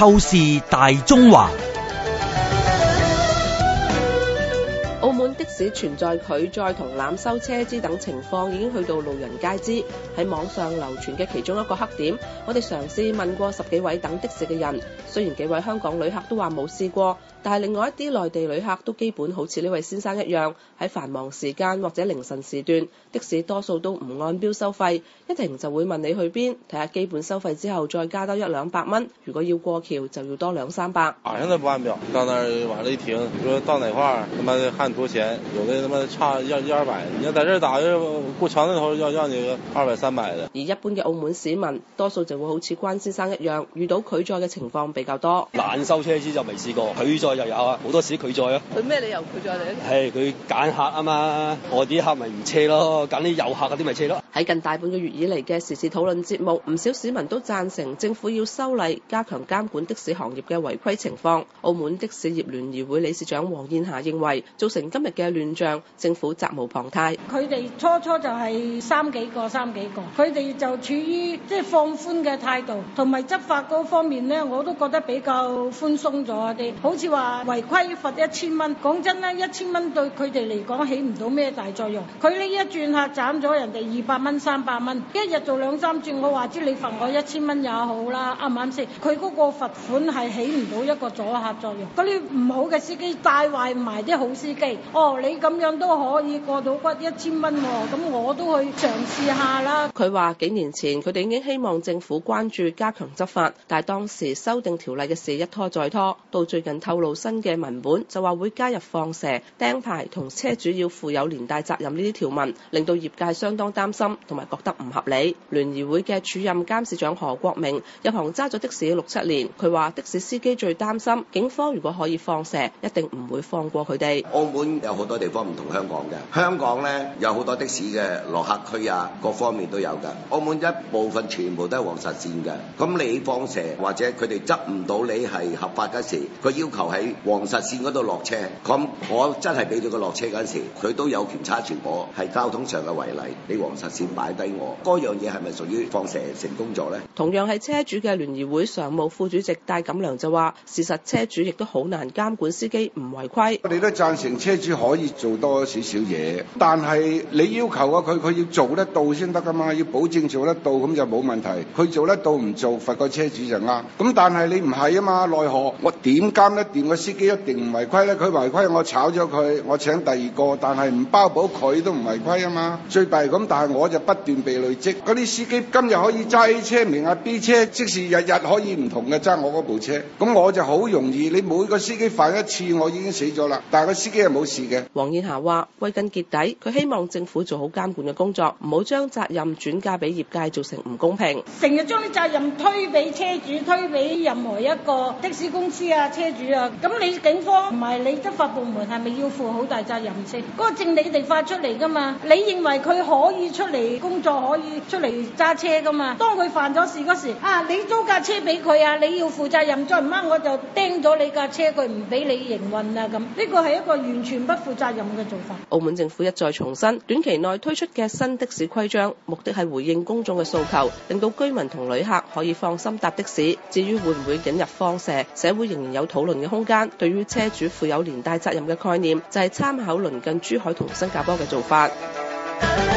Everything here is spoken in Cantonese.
透視大中華。 澳門的士存在拒載同濫收車資等情況已經去到路人皆知，喺網上流傳嘅其中一個黑點。我哋嘗試問過10幾位等的士嘅人，雖然幾位香港旅客都話冇試過，但係另外一啲內地旅客都基本好似呢位先生一樣，喺繁忙時間或者凌晨時段，的士多數都唔按標收費，一停就會問你去邊，睇下基本收費之後再加多100-200蚊，如果要過橋就要多200-300。 晚上都不按表，到那兒往那一停，你說到哪塊兒，他媽看多錢，有的他媽差100-200，你要在這兒打過橋那頭要你個200-300的。 而一般嘅澳門市民，多數就會好似關先生一樣，遇到拒載嘅情況比較多。 濫收車資就未試過，拒載就有啊，好多時拒載啊。 佢咩理由拒載你？ 係佢揀客啊嘛，我啲客咪唔車咯，揀啲有客嗰啲咪車咯。 喺近大半個月以嚟嘅時事討論節目，唔少市民都贊成政府要修例，加強監管的士行業嘅違規情況。澳門的士業聯誼會理事長黃燕霞認為，造成今日嘅亂象，政府責無旁貸。 佢哋初就係三幾個，佢哋就處於放寬嘅態度，同埋執法嗰方面呢，我都覺得比較寬鬆咗啲。好似話違規罰1000蚊，講真啦，1000蚊對佢哋嚟講起唔到咩大作用。佢呢一轉客斬咗人哋200蚊、300蚊，一日做2-3轉，我話知你罰我1000蚊也好啦，啱唔啱先？佢嗰個罰款係起唔到一個阻嚇作用。嗰啲唔好嘅司機帶壞埋啲好司機，你咁樣都可以過到骨1000蚊喎，咁我都去嘗試下啦。 佢話幾年前佢哋已經希望政府關注加強執法，但係當時修訂條例嘅事一拖再拖，到最近透露新嘅文本就話會加入放蛇、釘牌同車主要負有連帶責任呢啲條文，令到業界相當擔心同埋覺得唔合理。聯誼會嘅主任監事長何國明入行揸咗的士6-7年，佢話的士司機最擔心警方如果可以放蛇，一定唔會放過佢哋。 澳門有好多地方唔同香港嘅，香港呢有好多的士嘅落客區啊，各方面都有㗎。澳門一部分全部都係黃實線嘅，咁你放蛇或者佢哋執唔到你係合法嗰時，佢要求喺黃實線嗰度落車，咁我真係俾咗佢落車嗰時，佢都有權查住我係交通上嘅違例，你黃實線擺低我，嗰樣嘢係咪屬於放蛇成功咗呢？ 同樣係車主嘅聯誼會常務副主席戴錦良就話，事實車主亦都好難監管司機唔違規。 我哋都贊成車主可以做多少少嘢，但係你要求啊佢要做得到先得噶嘛，要保證做得到咁就冇問題。佢做得到唔做，罰個車主就啱。咁但係你唔係啊嘛，奈何我點監得掂個司機一定唔違規咧？佢違規我炒咗佢，我請第二個，但係唔包保佢都唔違規啊嘛。最弊咁，但係我就不斷被累積。嗰啲司機今日可以揸 A 車名啊 B 車，即使日日可以唔同嘅揸我嗰部車，咁我就好容易。你每個司機犯一次，我已經死咗啦。但係個司機係冇事嘅。 黃燕霞話：歸根結底，佢希望政府做好監管嘅工作，唔好將責任轉嫁俾業界，造成唔公平。 成日將啲責任推俾車主，推俾任何一個的士公司啊、車主啊，咁你警方唔係你執法部門係咪要負好大責任先？嗰個證你哋發出嚟噶嘛？你認為佢可以出嚟工作，可以出嚟揸車噶嘛？當佢犯咗事嗰時，你租架車俾佢啊，你要負責任，再唔啱我就釘咗你架車，佢唔俾你營運啊咁。呢個係一個完全不負責任嘅做法。 澳門政府一再重申，短期內推出嘅新的士規章，目的係回應公眾嘅訴求，令到居民同旅客可以放心搭的士。至於會唔會引入放蛇，社會仍然有討論嘅空間。對於車主負有連帶責任嘅概念，就係參考鄰近珠海同新加坡嘅做法。